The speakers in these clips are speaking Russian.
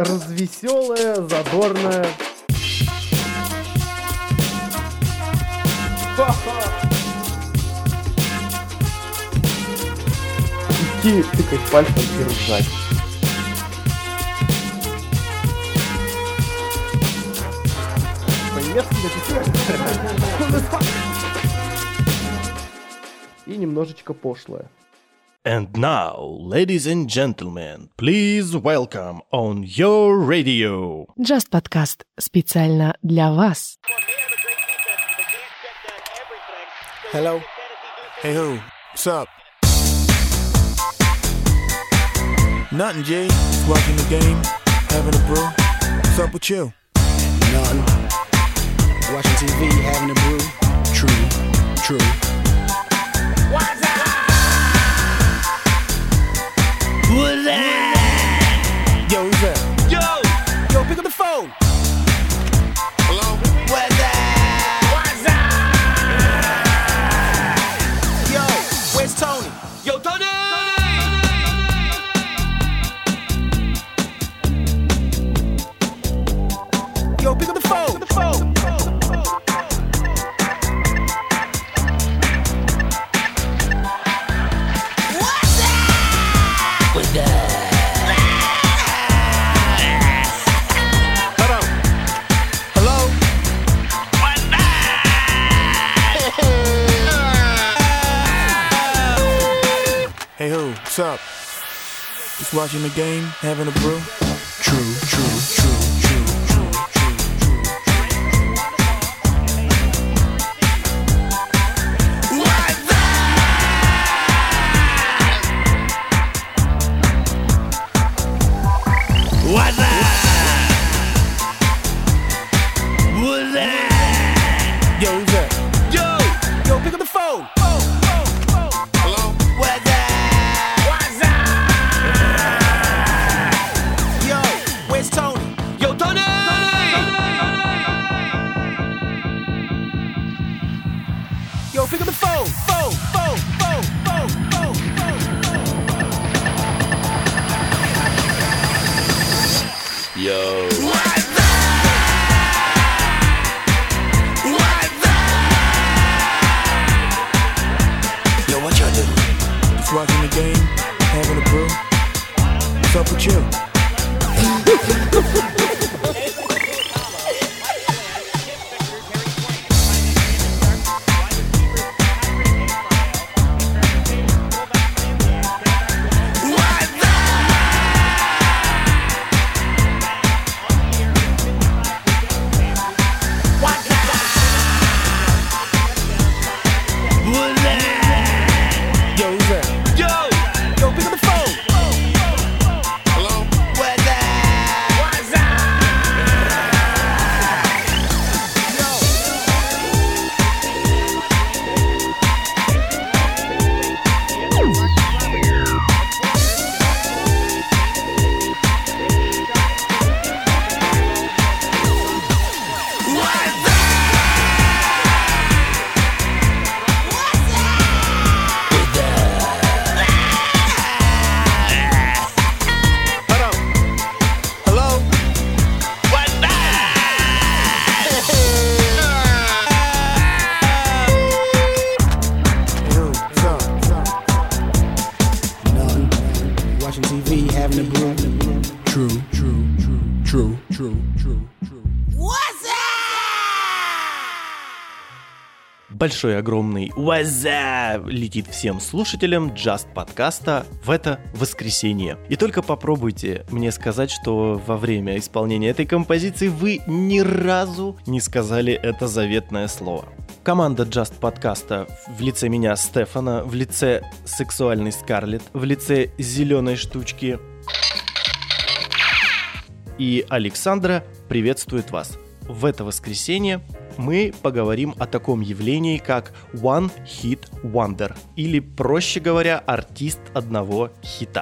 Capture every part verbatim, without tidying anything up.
развеселая, задорная. Идти, тыкать пальцем и ржать. По-немецки написано. И немножечко пошлое. And now, ladies and gentlemen, please welcome on your radio. Just Podcast специально для вас. Hello. Hey, who? What's up? Nothing, G. Just watching the game, having a brew. What's up with you? Nothing. Watching T V, having a brew. True, true. What's up? What's that? Yo, who's that? Yo! Yo, pick up the phone. Hello? What's that? What's up? Yo, where's Tony? Yo, Tony! Yo, pick up the phone. Pick up the phone. Hey, who? What's up? Just watching the game, having a brew. True, true, true, true, true, true, true. What's up? What's up? What's that? Yo, who's that? Yo! Yo, pick up the phone. Hello? What's that? Yo, where's Tony? Yo, Tony! Yo, pick up the phone. Phone, phone, phone, phone, phone, phone. Yo. What's up? What's up? Yo, what y'all doing? Just watching the game, having a brew. What's up with you? Yo, who's that? Yo! Yo, pick up the phone. Hello? What's that? What's up? Большой огромный «Уаза» летит всем слушателям Just подкаста в это воскресенье. И только попробуйте мне сказать, что во время исполнения этой композиции вы ни разу не сказали это заветное слово. Команда Just подкаста в лице меня, Стефана, в лице сексуальной Скарлетт, в лице зеленой штучки и Александра приветствует вас. В это воскресенье мы поговорим о таком явлении, как One Hit Wonder, или, проще говоря, артист одного хита.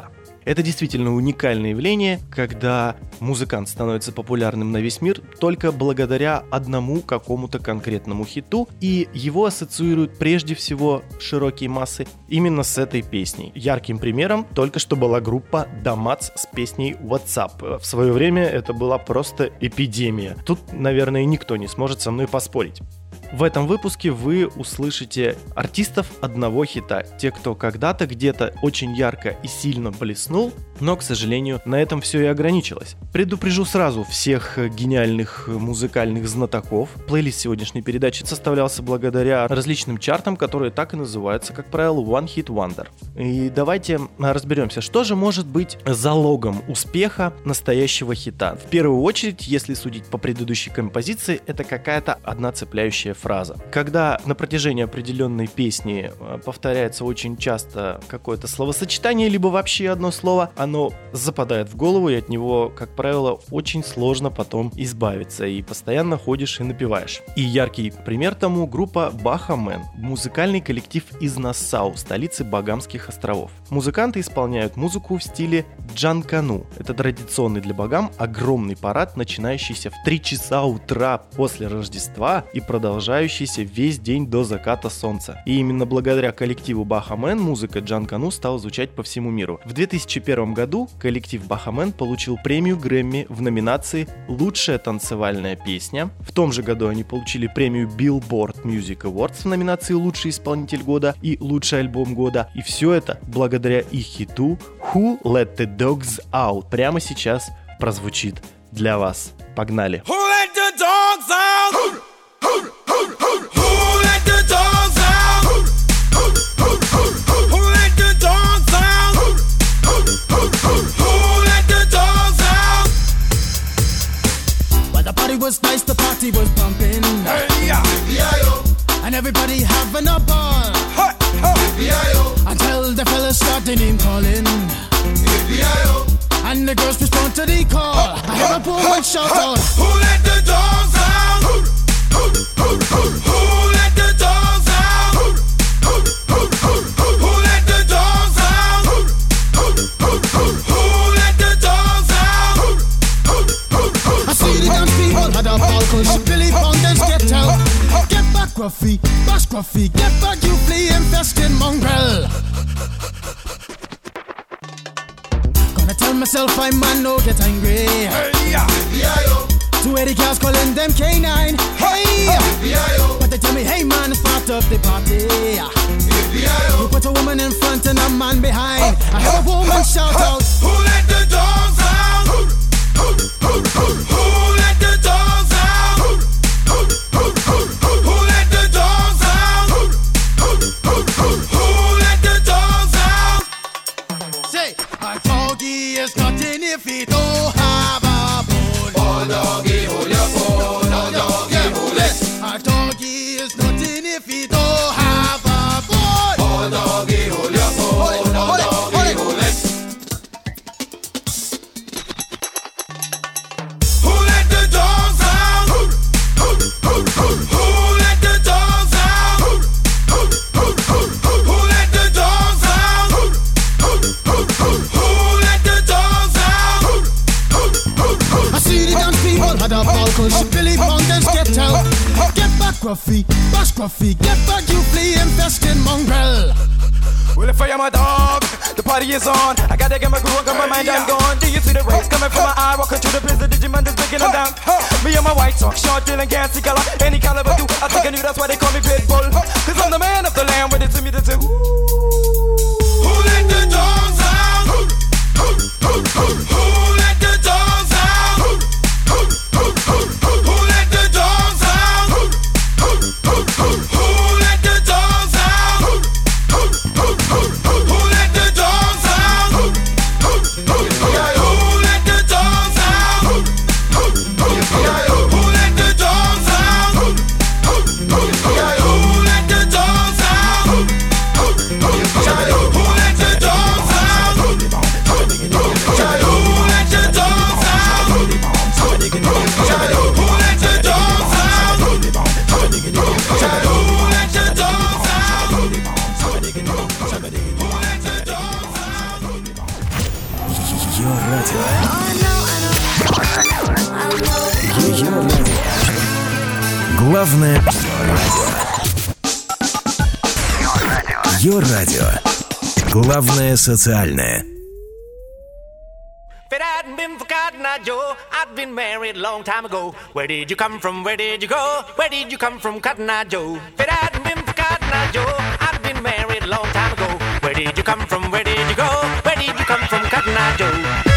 Это действительно уникальное явление, когда музыкант становится популярным на весь мир только благодаря одному какому-то конкретному хиту, и его ассоциируют прежде всего широкие массы именно с этой песней. Ярким примером только что была группа Damats с песней WhatsApp. В свое время это была просто эпидемия. Тут, наверное, никто не сможет со мной поспорить. В этом выпуске вы услышите артистов одного хита. Те, кто когда-то где-то очень ярко и сильно блеснул, но, к сожалению, на этом все и ограничилось. Предупрежу сразу всех гениальных музыкальных знатоков. Плейлист сегодняшней передачи составлялся благодаря различным чартам, которые так и называются, как правило, One Hit Wonder. И давайте разберемся, что же может быть залогом успеха настоящего хита. В первую очередь, если судить по предыдущей композиции, это какая-то одна цепляющая фраза. Когда на протяжении определенной песни повторяется очень часто какое-то словосочетание, либо вообще одно слово, оно западает в голову, и от него, как правило, очень сложно потом избавиться, и постоянно ходишь и напеваешь. И яркий пример тому группа Baha-Men, музыкальный коллектив из Нассау, столицы Багамских островов. Музыканты исполняют музыку в стиле джанкану. Это традиционный для багам огромный парад, начинающийся в три часа утра после Рождества и продолжающийся весь день до заката солнца. И именно благодаря коллективу Baha-Men музыка джанкану стала звучать по всему миру. В две тысячи первом году коллектив Baha-Men получил премию Грэмми в номинации «Лучшая танцевальная песня». В том же году они получили премию Billboard Music Awards в номинации «Лучший исполнитель года» и «Лучший альбом года». И все это благодаря их хиту «Who Let the Dogs Out». Прямо сейчас прозвучит для вас. Погнали! Who let the dogs out? Who let the dogs out? Who let the dogs out? Who let the dogs out? Well, the party was nice, the party was pumping. Hey, yeah. And everybody having a ball. Hey, hey. Until the fellas started name calling. And the girls respond to the call. I hear a poor one shout out. Who let the dogs out? Who let the dogs out? Who let the dogs out? Who let the dogs out? I see the dance people had a ball push. Billy Fountains get out. Get back, Gruffy, bash Gruffy. Get back, you flea infested mongrel. Gonna tell myself I man no get angry. Hey, yeah. Two eighty cars calling them K nine. Hey, but they tell me, hey man, it's part of the party. You put a woman in front and a man behind. I heard a woman shout out. Who let the dogs out? Who let the dogs out? Who let the dogs out? Who let the dogs out? Say, a doggy is nothing if he don't have a bone. Oh doggy, hold your bone. Oh doggy, hold it. A doggy is nothing if he don't have a bone. Oh doggy, hold your bone. Oh doggy, hold it. Who let the dogs out? Who let the dogs out? Who let the dogs out? Who let the dogs out? I see the dance people had a ball push. Billy Fountains get out. Get back, Gruffy, bash Gruffy. Get back, you flea infested mongrel. Well, if I am a dog, the party is on. I gotta get my groove on, got my mind, I'm gone. Do you see the rays coming from my eye? Walking through the place, the Digimon is breaking them down. Me and my white talk, short, dealing, gassy color. Any caliber do, I think I knew that's why they call me Pitbull. Cause I'm the man of the land, with it to me to say, ooh. Who let the dogs out? Who let the dogs out? Who let the dogs out? Who let the dogs out? Who let the dogs out? Who let the dogs out? Who let the dogs out? Главное Йо-радио. Главное социальное. If it hadn't been for Cotton Eye Joe, I'd been married a long time ago. Where did you come from? Where did you go? Where did you come from, Cotton Eye Joe? If it hadn't been for Cotton Eye Joe, I'd been married a long time ago. Where did you come from? Where did you go? Where did you come from, Cotton Eye Joe?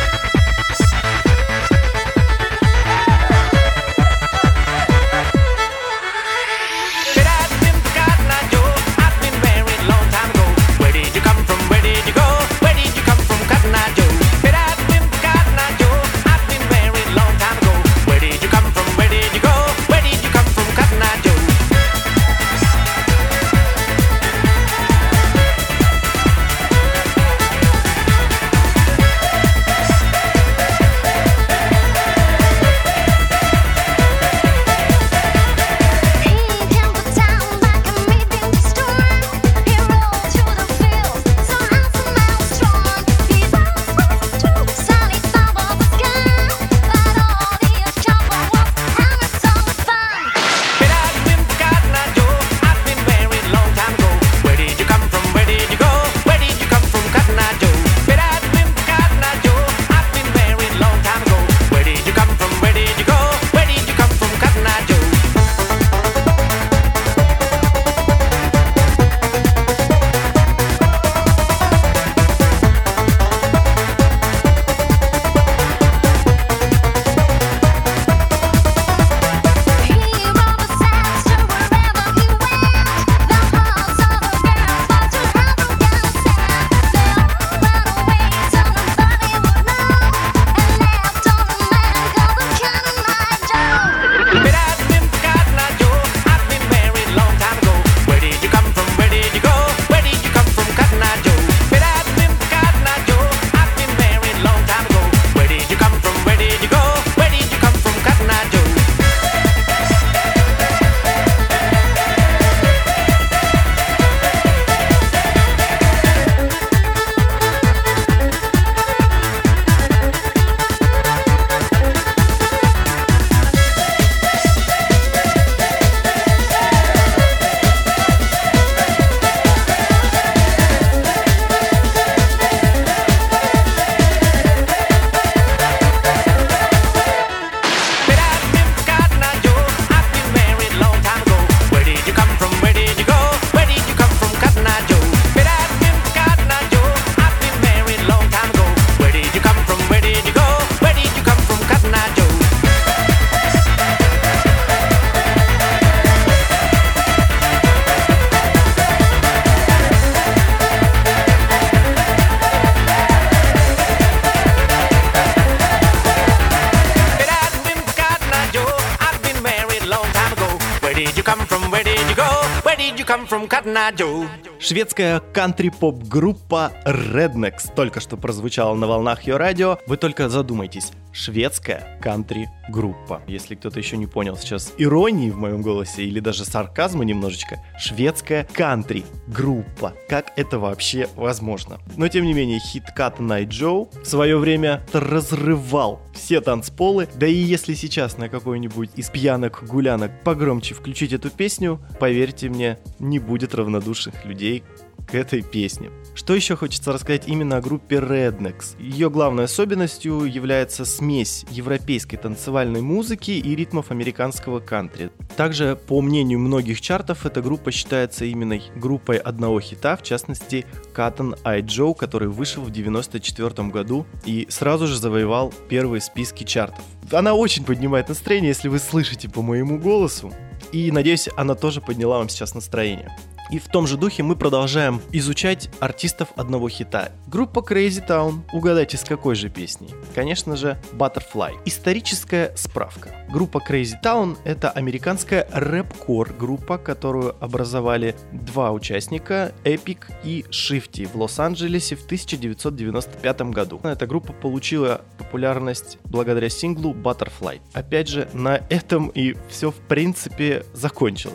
Шведская кантри-поп-группа Rednex только что прозвучала на волнах Йо-радио. Вы только задумайтесь. Шведская кантри-группа. Если кто-то еще не понял сейчас иронии в моем голосе или даже сарказма немножечко. Шведская кантри-группа. Как это вообще возможно? Но тем не менее, хит Cotton Eye Joe в свое время разрывал все танцполы. Да и если сейчас на какой-нибудь из пьянок-гулянок погромче включить эту песню, поверьте мне, не будет равнодушных людей к этой песне. Что еще хочется рассказать именно о группе Rednex? Ее главной особенностью является смесь европейской танцевальной музыки и ритмов американского кантри. Также, по мнению многих чартов, эта группа считается именно группой одного хита, в частности Cotton Eye Joe, который вышел в девяносто четвёртом году и сразу же завоевал первые списки чартов. Она очень поднимает настроение, если вы слышите по моему голосу, и надеюсь, она тоже подняла вам сейчас настроение. И в том же духе мы продолжаем изучать артистов одного хита. Группа Crazy Town. Угадайте, с какой же песней? Конечно же, Butterfly. Историческая справка. Группа Crazy Town — это американская рэп-кор группа, которую образовали два участника, Epic и Shifty, в Лос-Анджелесе в тысяча девятьсот девяносто пятом году. Эта группа получила популярность благодаря синглу Butterfly. Опять же, на этом и все в принципе закончилось.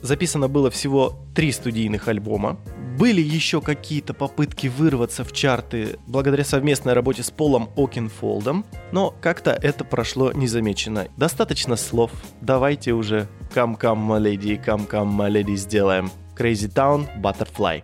записано было всего три студийных альбома. Были еще какие-то попытки вырваться в чарты благодаря совместной работе с Полом Окенфолдом, но как-то это прошло незамеченно. Достаточно слов, давайте уже «Come, come, my lady, come, come, my lady» сделаем. Crazy Town, Butterfly.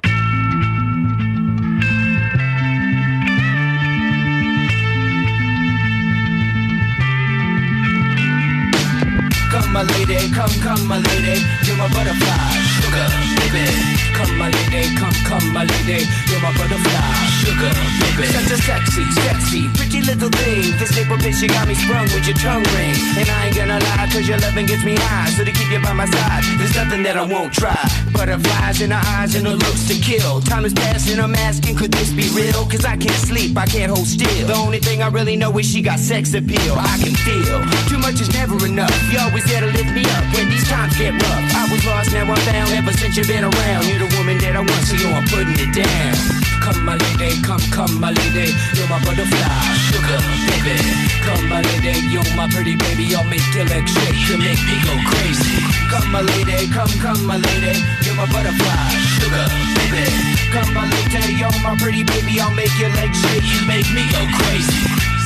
Come my lady, come, come my lady, you're my butterfly, sugar, baby. Come my lady, come, come my lady, you're my butterfly, sugar, baby. Such a sexy, sexy, pretty little thing. This little bitch, you got me sprung with your tongue ring. And I ain't gonna lie, cause your loving gets me high. So to keep you by my side, there's nothing that I won't try. Butterflies in her eyes and her looks to kill. Time is passing, I'm asking, could this be real? Cause I can't sleep, I can't hold still. The only thing I really know is she got sex appeal. I can feel, too much is never enough. You always there to lift me up when these times get rough. I was lost, now I'm found, ever since you've been around. You're the woman that I want, so you know I'm putting it down. Come my lady, come, come my lady, you're my butterfly, sugar, baby. Come my lady, you're my pretty baby, I'll make your legs shake, you make me go crazy. Come my lady, come, come my lady, you're my butterfly, sugar, baby. Come my lady, you're my pretty baby, I'll make your legs shake, you make me go crazy.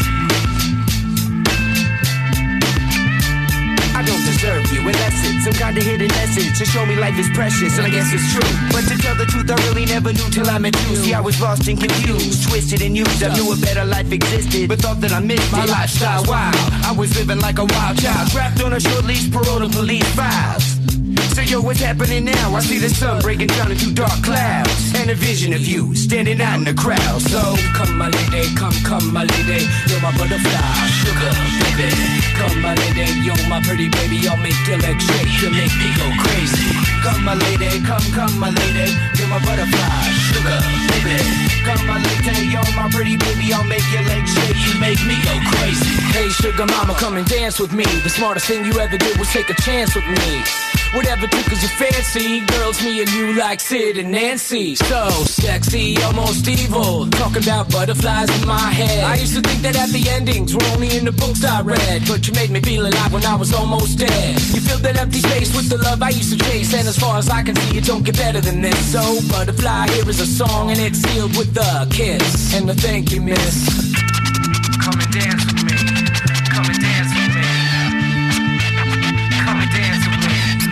I don't deserve you, and that's it. Some kind of hidden message to show me life is precious, and I guess it's true. But to tell the truth, I really never knew till I met you. See, I was lost and confused, twisted and used. I knew a better life existed, but thought that I missed my lifestyle wild. I was living like a wild child, trapped on a short leash, parole to police files. So yo, what's happening now? I see the sun breaking down into dark clouds, and a vision of you standing out in the crowd. So come my lady, come, come my lady, you're my butterfly, sugar, baby. Come my lady, you're my pretty baby, I'll make your legs shake, you make me go crazy. Come my lady, come, come my lady, you're my butterfly, sugar, baby. Come my lady, you're my pretty baby, I'll make your legs shake, you make me go crazy. Hey sugar mama, come and dance with me. The smartest thing you ever did was take a chance with me. Whatever tickles your fancy, girls, me and you like Sid and Nancy. So sexy, almost evil, talking about butterflies in my head. I used to think that happy endings were only in the books I read, but you made me feel alive when I was almost dead. You filled that empty space with the love I used to chase, and as far as I can see, it don't get better than this. So butterfly, here is a song, and it's sealed with a kiss and a thank you, miss. Come and dance with me, come and dance with me, come and dance with me.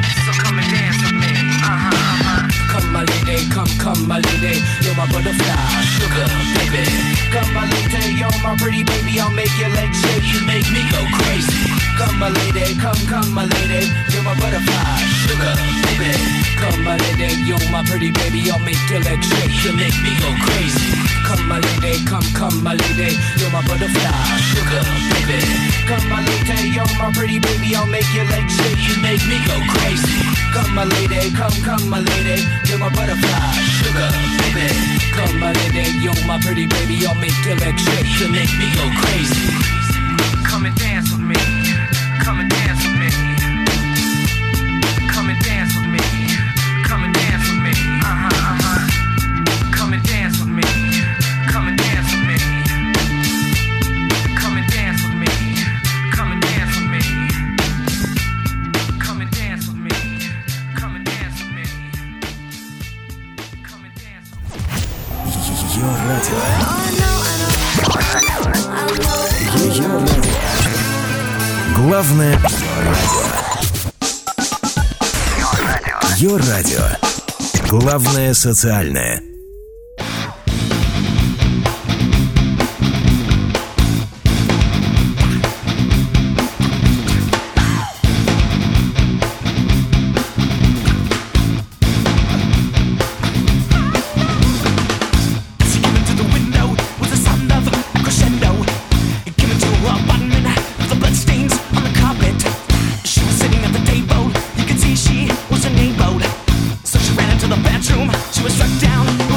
Come my lady, come, come my lady, you're my butterfly, sugar, baby. Come my lady, you're my pretty baby, I'll make your legs shake, you make me go crazy. Come my lady, come, come my lady, you're my butterfly, sugar, baby. Come my lady, you're my pretty baby, I'll make your legs shake, you make me go crazy. Come my lady, come, come my lady, you're my butterfly, sugar, baby. Come my lady, you're my pretty baby, I'll make your legs shake, you make me go crazy. Come my lady, come, come my lady, you're my butterfly, sugar, baby. Come my lady, you're my pretty baby, I'll make your legs shake, you make me go crazy. Come and dance with me, come and dance with me, come and dance with me, come and dance with me, uh-huh, uh-huh. Come and dance with me, come and dance with me, come and dance with me, come and dance with me, come and dance with me, come and dance with me, come and dance with me. Ее радио. Ее радио. Главное радио. Ее радио. Главное социальное. She was struck down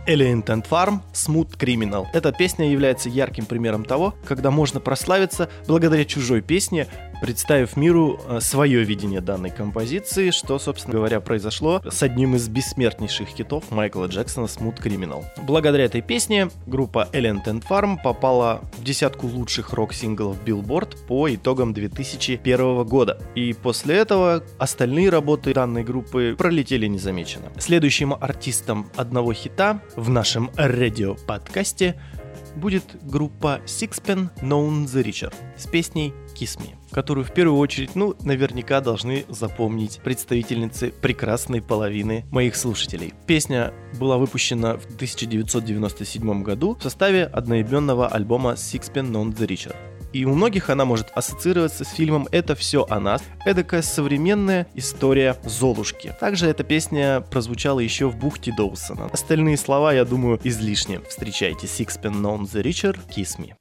Alien Ant Farm Smooth Criminal. Эта песня является ярким примером того, когда можно прославиться благодаря чужой песне, представив миру свое видение данной композиции, что, собственно говоря, произошло с одним из бессмертнейших хитов Майкла Джексона Smooth Criminal. Благодаря этой песне группа Alien Ant Farm попала в десятку лучших рок-синглов Billboard по итогам две тысячи первого года. И после этого остальные работы данной группы пролетели незамеченно. Следующим артистом одного хита в нашем радио-подкасте будет группа Sixpence None the Richer с песней Kiss Me, которую в первую очередь, ну, наверняка должны запомнить представительницы прекрасной половины моих слушателей. Песня была выпущена в тысяча девятьсот девяносто седьмом году в составе одноименного альбома Sixpence None the Richer. И у многих она может ассоциироваться с фильмом «Это все о нас», эдакая современная история Золушки. Также эта песня прозвучала еще в бухте Доусона. Остальные слова, я думаю, излишни. Встречайте Sixpence None the Richer, Kiss Me.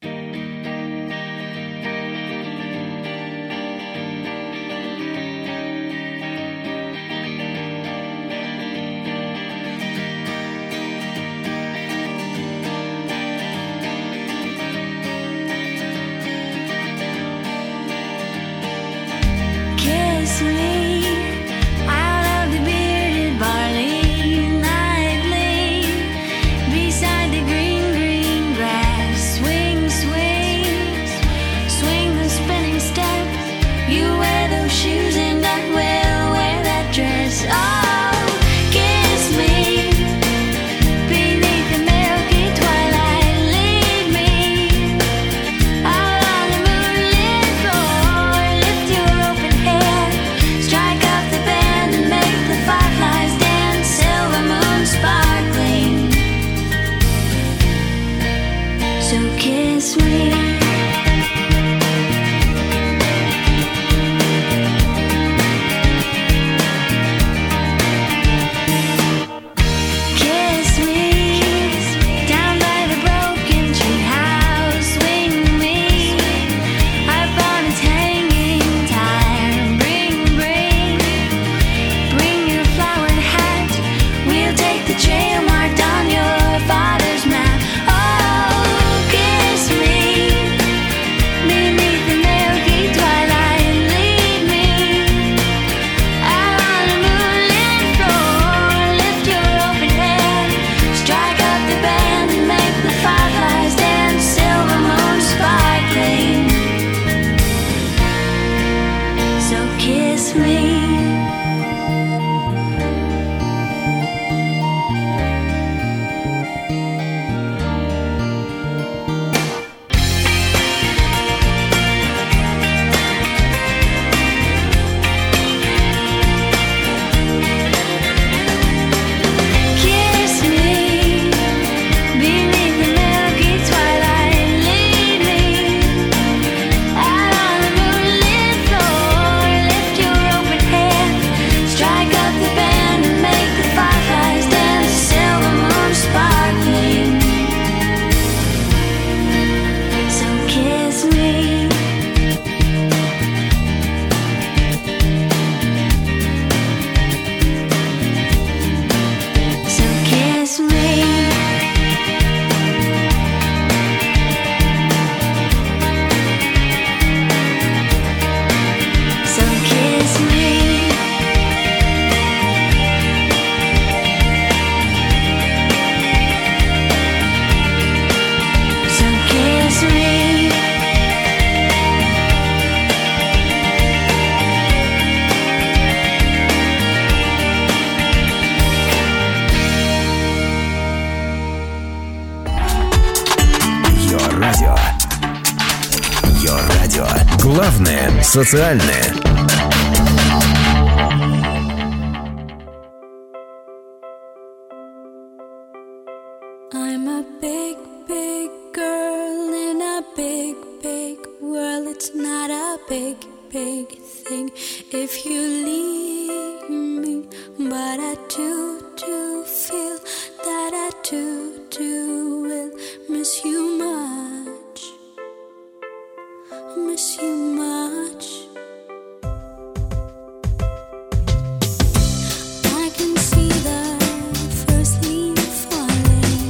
Главное социальное. I'm a big, big girl in a big, big world. It's not a big, big thing if you leave me, but I do, do feel that I do, do will miss you much, miss you much. I can see the first leaf falling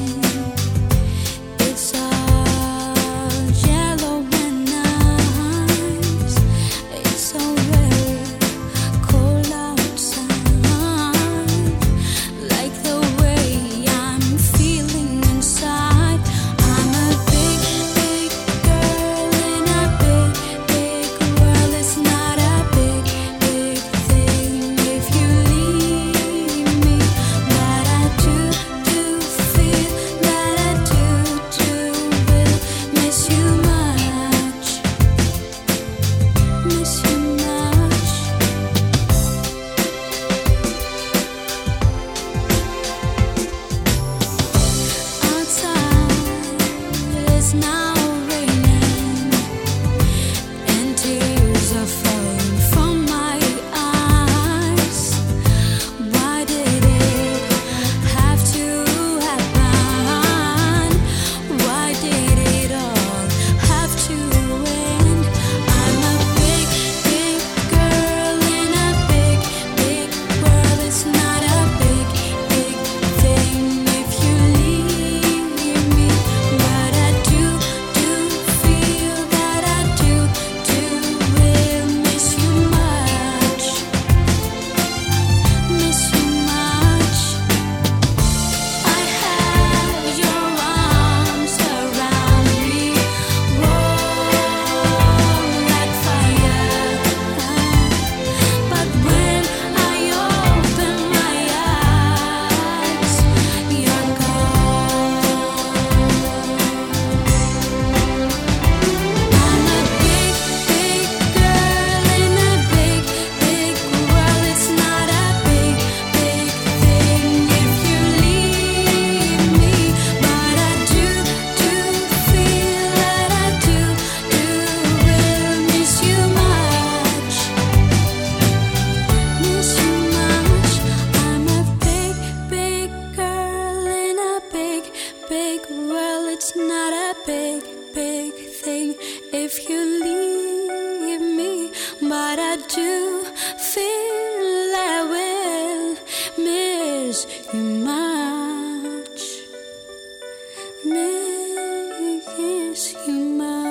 kiss you much. Never kiss you much.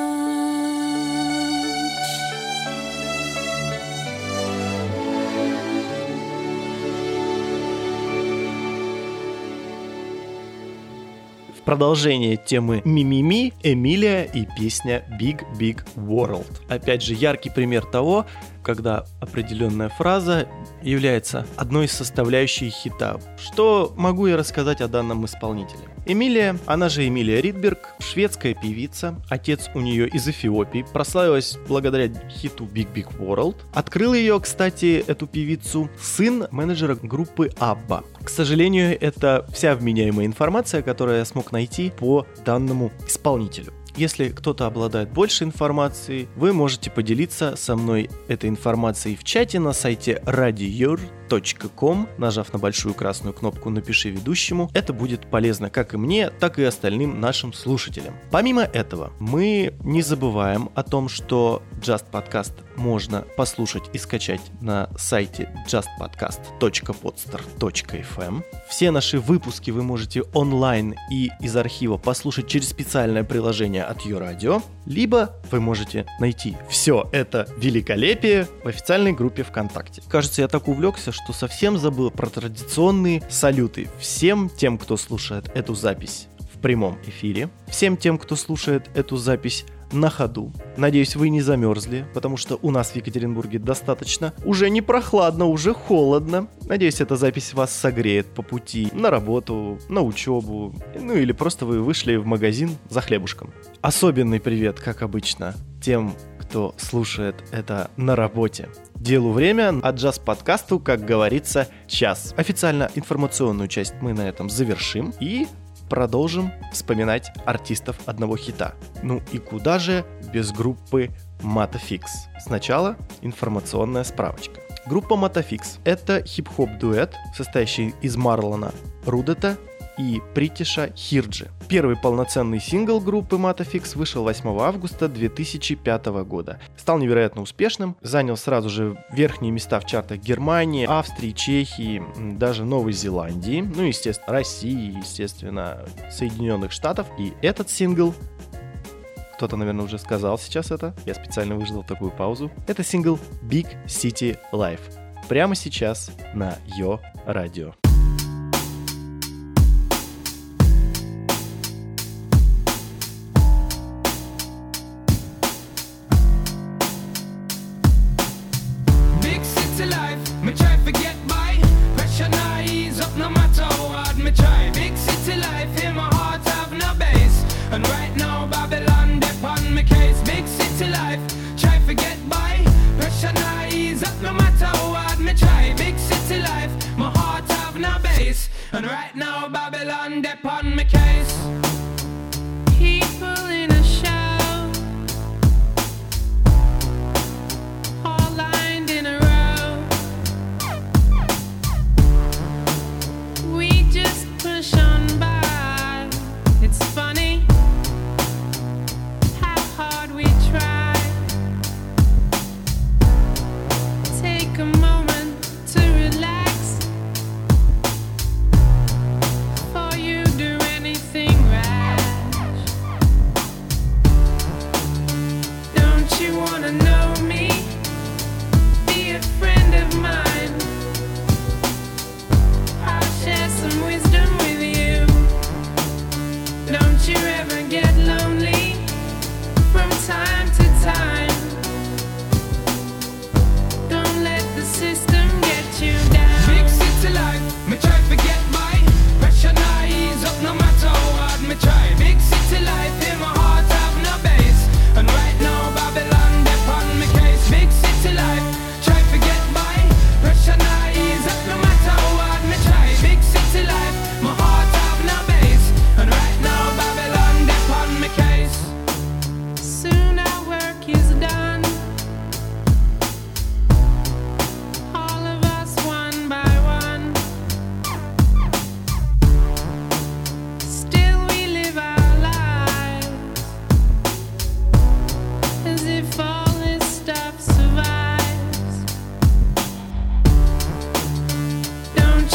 Продолжение темы «Мимими», Эмилия и песня «Big Big World». Опять же, яркий пример того, когда определенная фраза является одной из составляющих хита. Что могу я рассказать о данном исполнителе? Эмилия, она же Эмилия Ридберг, шведская певица, отец у нее из Эфиопии, прославилась благодаря хиту Big Big World. Открыл ее, кстати, эту певицу, сын менеджера группы Абба. К сожалению, это вся вменяемая информация, которую я смог найти по данному исполнителю. Если кто-то обладает больше информации, вы можете поделиться со мной этой информацией в чате на сайте радиор точка ком, нажав на большую красную кнопку «Напиши ведущему». Это будет полезно как и мне, так и остальным нашим слушателям. Помимо этого, мы не забываем о том, что Just Podcast можно послушать и скачать на сайте джаст подкаст точка подстер точка эф эм. Все наши выпуски вы можете онлайн и из архива послушать через специальное приложение от YouRadio, либо вы можете найти все это великолепие в официальной группе ВКонтакте. Кажется, я так увлекся, что совсем забыл про традиционные салюты всем тем, кто слушает эту запись в прямом эфире, всем тем, кто слушает эту запись на ходу. Надеюсь, вы не замерзли, потому что у нас в Екатеринбурге достаточно уже не прохладно, уже холодно. Надеюсь, эта запись вас согреет по пути на работу, на учебу, ну или просто вы вышли в магазин за хлебушком. Особенный привет, как обычно, тем, кто слушает это на работе. Делу время, а джаз-подкасту, как говорится, час. Официально информационную часть мы на этом завершим и продолжим вспоминать артистов одного хита. Ну и куда же без группы Matafix? Сначала информационная справочка. Группа Matafix — это хип-хоп-дуэт, состоящий из Марлона Рудета и Притиша Хирджи. Первый полноценный сингл группы Matafix вышел восьмого августа две тысячи пятого года. Стал невероятно успешным, занял сразу же верхние места в чартах Германии, Австрии, Чехии, даже Новой Зеландии, ну и, естественно, России, естественно, Соединенных Штатов. И этот сингл, кто-то, наверное, уже сказал сейчас это, я специально выждал такую паузу, это сингл Big City Life. Прямо сейчас на Йо Радио. And right now Babylon dep on my case. People in a show, all lined in a row. We just push on by. It's funny how hard we try. Take a moment to relax. Do anything rash.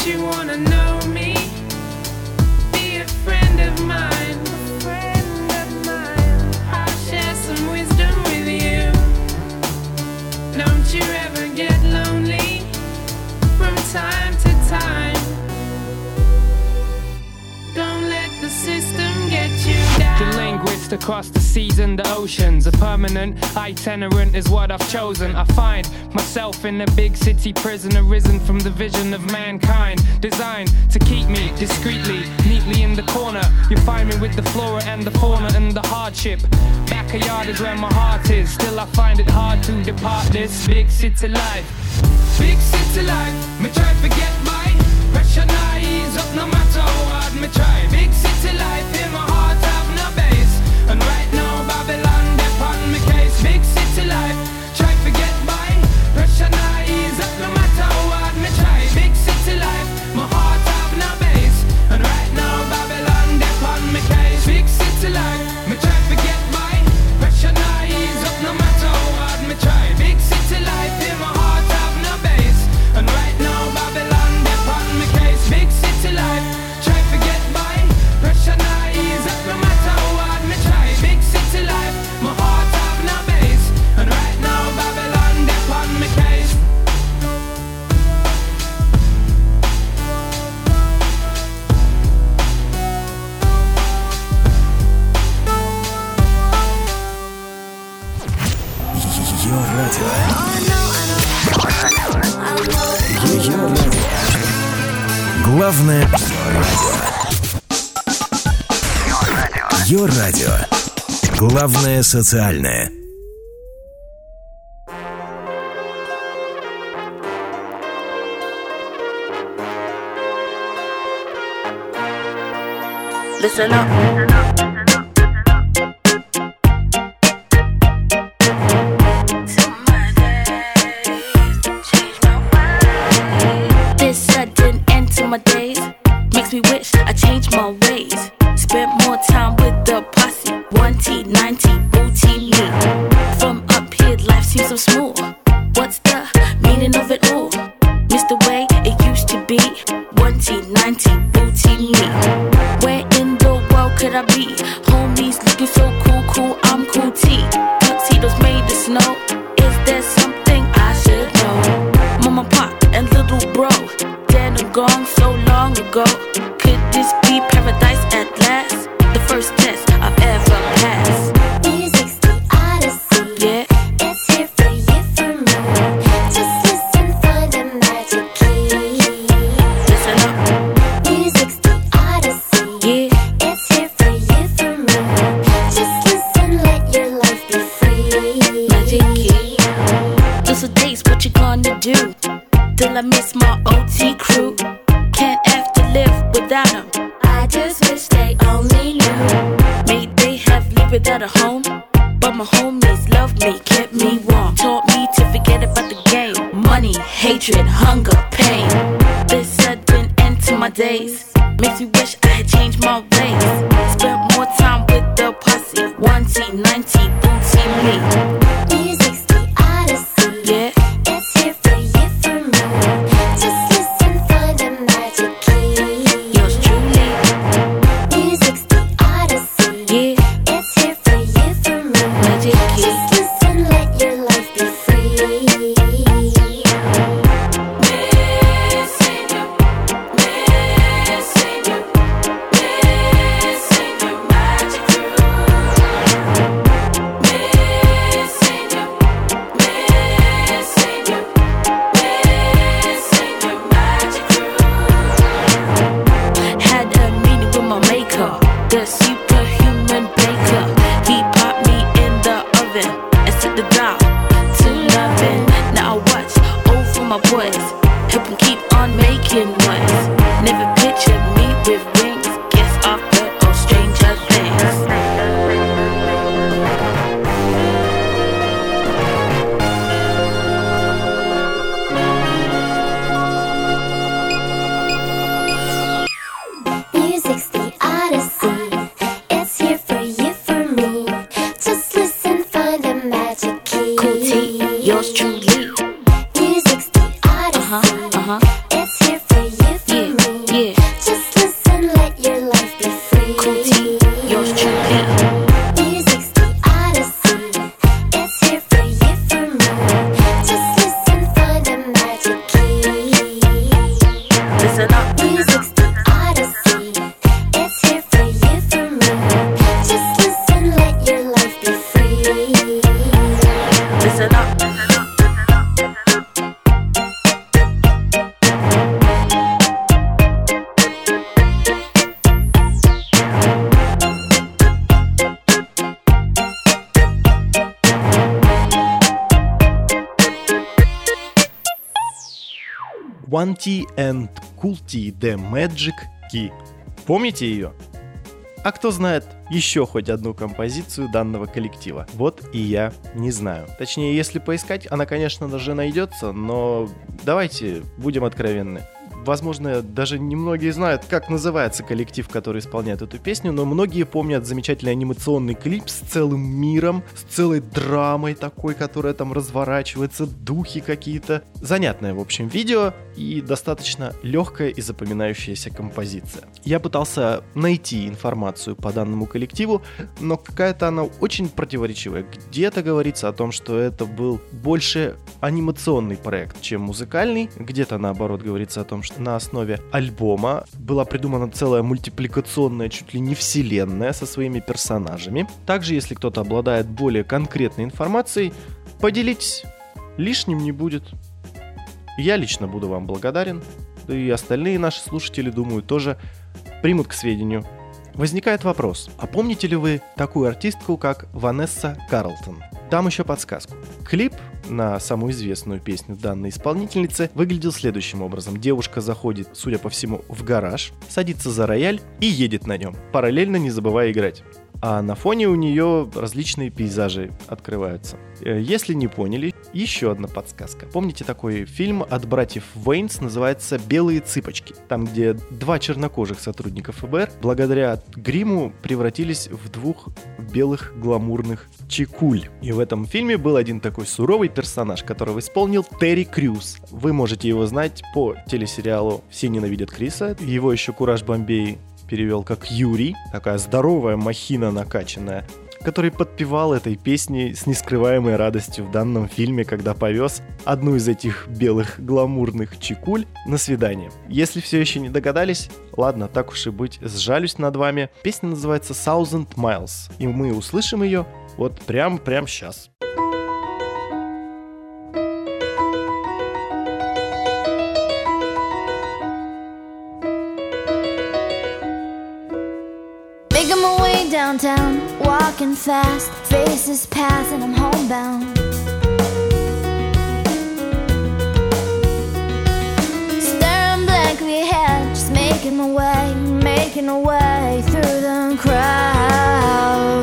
you wanna know me? Be a friend of mine. A friend of mine. I'll share some wisdom with you. Don't you ever get lonely from time to time. Don't let the system get you down. The linguist across the seas and the oceans. A permanent itinerant is what I've chosen. I find myself in a big city prison, arisen from the vision of mankind, designed to keep me discreetly, neatly in the corner. You find me with the flora and the fauna and the hardship. Backyard is where my heart is. Still I find it hard to depart this big city life. Big city life, me try to forget my pressure now ease up no matter how hard me try. Big city life, in my heart have no base. And right now Babylon, they on me case. Big city life, try to forget my pressure now ease up no matter how hard me try. Big city life, my heart have no base. And right now Babylon, they on me case. Big city life, me try to forget my pressure now ease up no matter how hard me try. Big city life, in my heart have no base. And right now Babylon, they on me case. Big city life, try to forget my pressure now ease up no matter how hard me try. Big city life, my heart have no base. And right now Babylon, they on me case. Ее радио. Ее радио. Главное радио. Ее радио. Главное социальное. Listen up. This sudden end to my days makes me wish I changed my ways. Spent more time with the posse. one T, nine T, booty me. From up here, life seems so small. What's the meaning of it all? Miss the way it used to be. one T, nine T, booty me. Where in the world could I be? Homies looking so cool, cool, I'm cool T. Tuxedos made of snow. Is there something I should know? Mama, pop, and little bro, dead and gone so long ago. Could this be paradise at last? The first test I've ever passed. Music's the odyssey. Yeah. It's here for you, for me. Just listen for the magic key. Listen up. Music's the odyssey. Yeah. It's here for you, for me. Just listen, let your life be free. Magic key. Those are days, what you gonna do? Till I miss my O T crew. Can't have to live without them. I just wish they only knew. May they have lived without a home, but my homies loved me, kept me warm. Taught me to forget about the game. Money, hatred, hunger, pain. This sudden end to my days makes me wish I had changed my ways. Spent more time with the posse. one T, nine T, booty me. Music's the odyssey. Yeah. It's here for you, for me. Just listen for the magic key. Yours truly. Music's the odyssey. Yeah. It's here for you, for me. Magic key. Just listen, let your life be free. Missing you, missing you, missing your magic crew. Missing you, missing Yeah. Just listen, let your life be free. Cool T, yours truly. Music's the odyssey. It's here for you, for me. Just listen, find a magic key. Listen up. Music's the odyssey. It's here for you, for me. Just listen, let your life be free. Listen up. One T and Cool T The Magic Key. Помните ее? А кто знает еще хоть одну композицию данного коллектива? Вот и я не знаю. Точнее, если поискать, она, конечно же, найдется, но давайте будем откровенны. Возможно, даже немногие знают, как называется коллектив, который исполняет эту песню, но многие помнят замечательный анимационный клип с целым миром, с целой драмой такой, которая там разворачивается, духи какие-то. Занятное, в общем, видео и достаточно легкая и запоминающаяся композиция. Я пытался найти информацию по данному коллективу, но какая-то она очень противоречивая. Где-то говорится о том, что это был больше анимационный проект, чем музыкальный. Где-то, наоборот, говорится о том, что на основе альбома была придумана целая мультипликационная, чуть ли не вселенная со своими персонажами. Также, если кто-то обладает более конкретной информацией, поделитесь, лишним не будет. Я лично буду вам благодарен, да и остальные наши слушатели, думаю, тоже примут к сведению. Возникает вопрос, а помните ли вы такую артистку, как Ванесса Карлтон? Дам еще подсказку. Клип на самую известную песню данной исполнительницы выглядел следующим образом. Девушка заходит, судя по всему, в гараж, садится за рояль и едет на нем, параллельно не забывая играть. А на фоне у нее различные пейзажи открываются. Если не поняли, еще одна подсказка. Помните такой фильм от братьев Вейнс, называется «Белые цыпочки», там, где два чернокожих сотрудника эф бэ эр благодаря гриму превратились в двух белых гламурных чекуль. И в этом фильме был один такой суровый персонаж, которого исполнил Терри Крюс. Вы можете его знать по телесериалу «Все ненавидят Криса». Его еще Кураж Бомбей перевел как Юрий, такая здоровая махина накачанная, который подпевал этой песни с нескрываемой радостью в данном фильме, когда повез одну из этих белых гламурных чекуль на свидание. Если все еще не догадались, ладно, так уж и быть, сжалюсь над вами. Песня называется Thousand Miles, и мы услышим ее вот прям-прям сейчас. Making my way downtown, walking fast, faces pass and I'm homebound. Staring blankly ahead, just making my way, making my way through the crowd.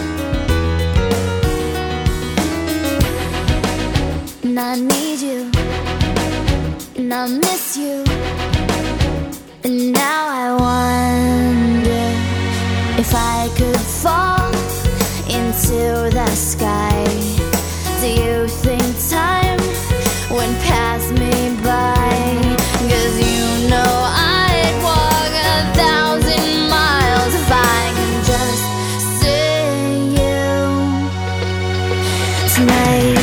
And I need you, and I miss you, and now I wonder if I could fall into the sky. Do you think time went past me by? 'Cause you know I'd walk a thousand miles if I could just see you tonight.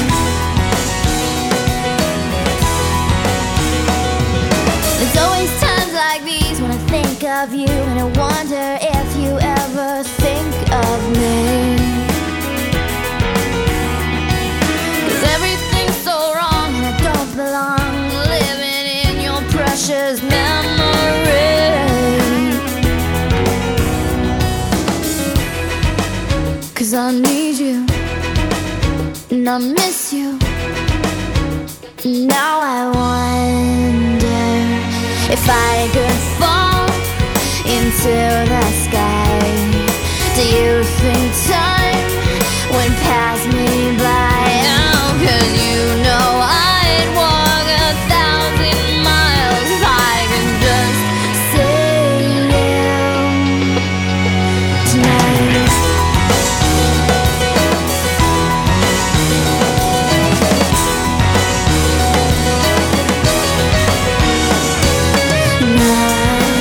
There's always times like these when I think of you, and I wonder if you ever think of me. 'Cause everything's so wrong and I don't belong, living in your precious memory. 'Cause I need you and I miss you. Now I wonder if I could fall into the sky. Do you think time went past me by? Oh, 'cause you know I'd walk a thousand miles if I could just see you tonight. Now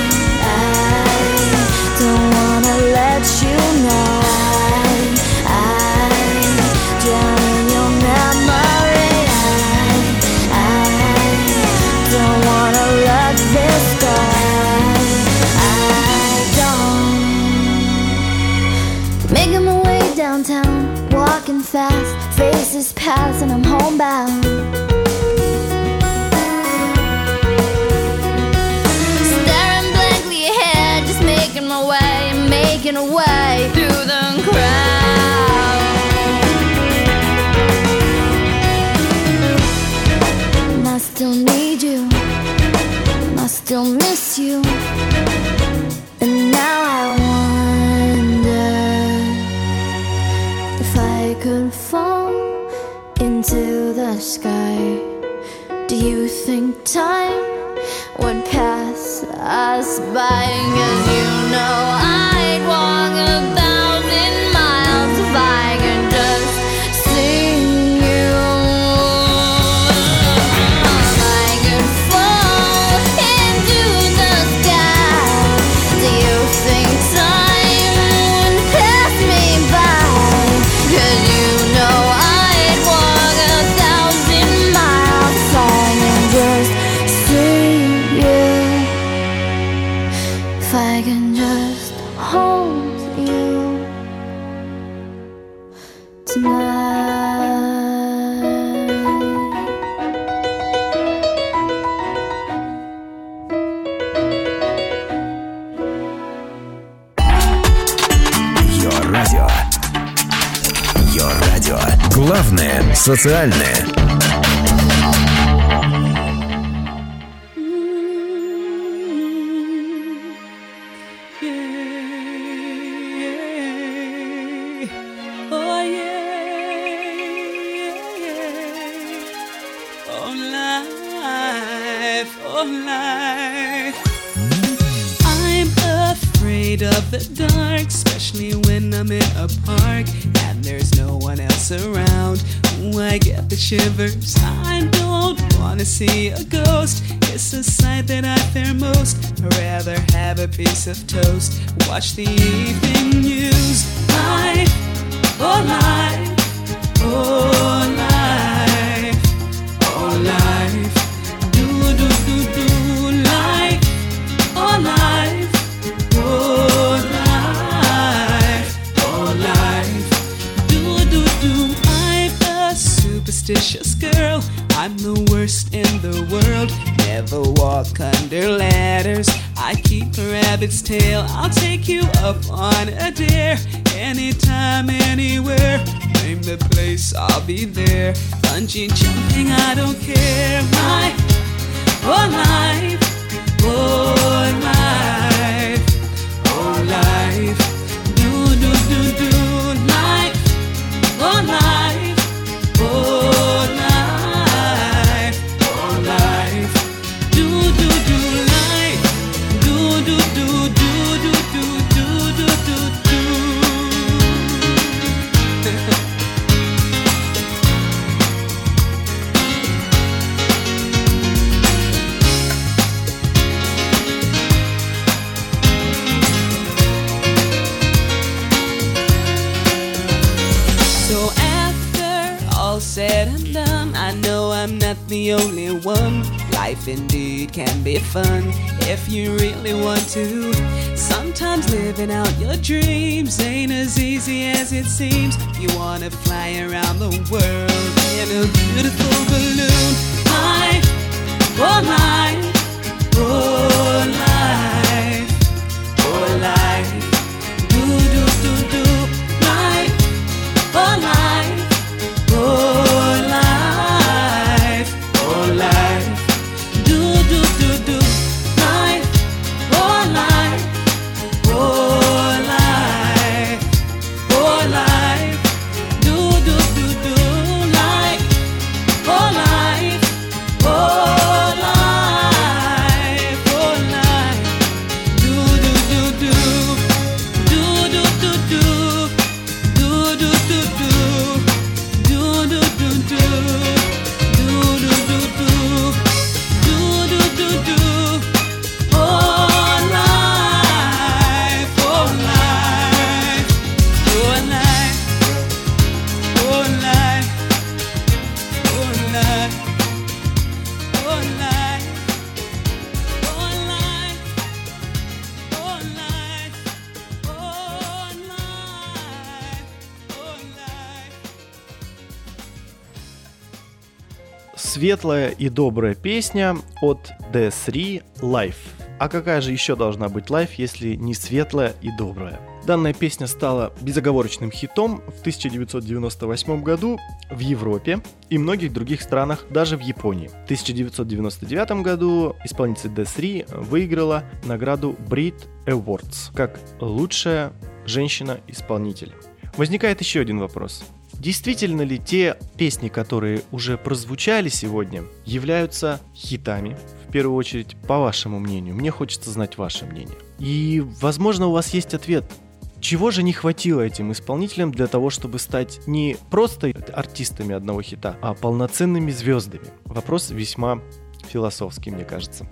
fast, faces pass and I'm homebound. Staring blankly ahead, just making my way and making a way through the crowd. And I still need you, and I still miss you. And now I wonder if I could fall into the sky. Do you think time would pass us by? 'Cause you know I'd walk a thousand miles if I could just see you. If I could fall into the sky, do you think time would pass me by? 'Cause you know I'd walk a thousand miles if I could just see you. If I can just hold you tonight. Your Radio. Your Radio. Главное социальное. Oh yeah, oh life, oh life. I'm afraid of the dark, especially when I'm in a park and there's no one else around. Ooh, I get the shivers. I don't wanna see a ghost. It's a sight that I fear most. I'd rather have a piece of toast, watch the evening news. Life, oh life, oh life, oh life. Do do do do life, oh life, oh life, oh life. Do do do. I'm a superstitious girl. I'm the worst in the world. Never walk under ladders. I keep a rabbit's tail. I'll take you up on a dare. Anytime, anywhere. Name the place, I'll be there. Bungee jumping, I don't care. Life, oh life, oh life, oh life. Do do do do life, oh life, oh life, oh life. Do do do life, do do do do do do do do do do. So after all said and done, I know I'm not the only one. Life indeed can be fun if you really want to. Sometimes living out your dreams ain't as easy as it seems. You wanna fly around the world in a beautiful balloon. Life, oh life, oh life, oh life. Do do do do life, oh life, oh life, oh life. Do do do do life, oh life, oh life, oh life. Do do do do life, oh life, oh life, oh life. светлая и добрая песня от ди три Life. А какая же еще должна быть Life, если не светлая и добрая? Данная песня стала безоговорочным хитом в тысяча девятьсот девяносто восьмом году в Европе и многих других странах, даже в Японии. В тысяча девятьсот девяносто девятом году исполнительница ди три выиграла награду Brit Awards как лучшая женщина-исполнитель. Возникает еще один вопрос. Действительно ли те песни, которые уже прозвучали сегодня, являются хитами? В первую очередь, по вашему мнению. Мне хочется знать ваше мнение. И, возможно, у вас есть ответ. Чего же не хватило этим исполнителям для того, чтобы стать не просто артистами одного хита, а полноценными звездами? Вопрос весьма философский, мне кажется.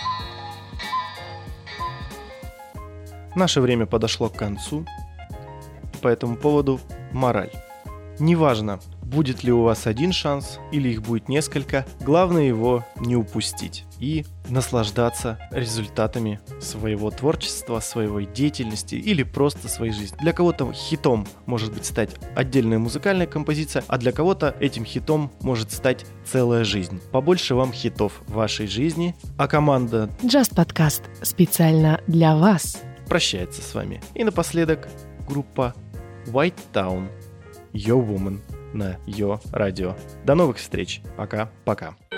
Наше время подошло к концу. По этому поводу мораль. Неважно, будет ли у вас один шанс или их будет несколько, главное его не упустить и наслаждаться результатами своего творчества, своей деятельности или просто своей жизни. Для кого-то хитом может быть стать отдельная музыкальная композиция, а для кого-то этим хитом может стать целая жизнь. Побольше вам хитов в вашей жизни, а команда Just Podcast специально для вас прощается с вами. И напоследок группа White Town, Yo Woman на Yo Radio. До новых встреч. Пока-пока.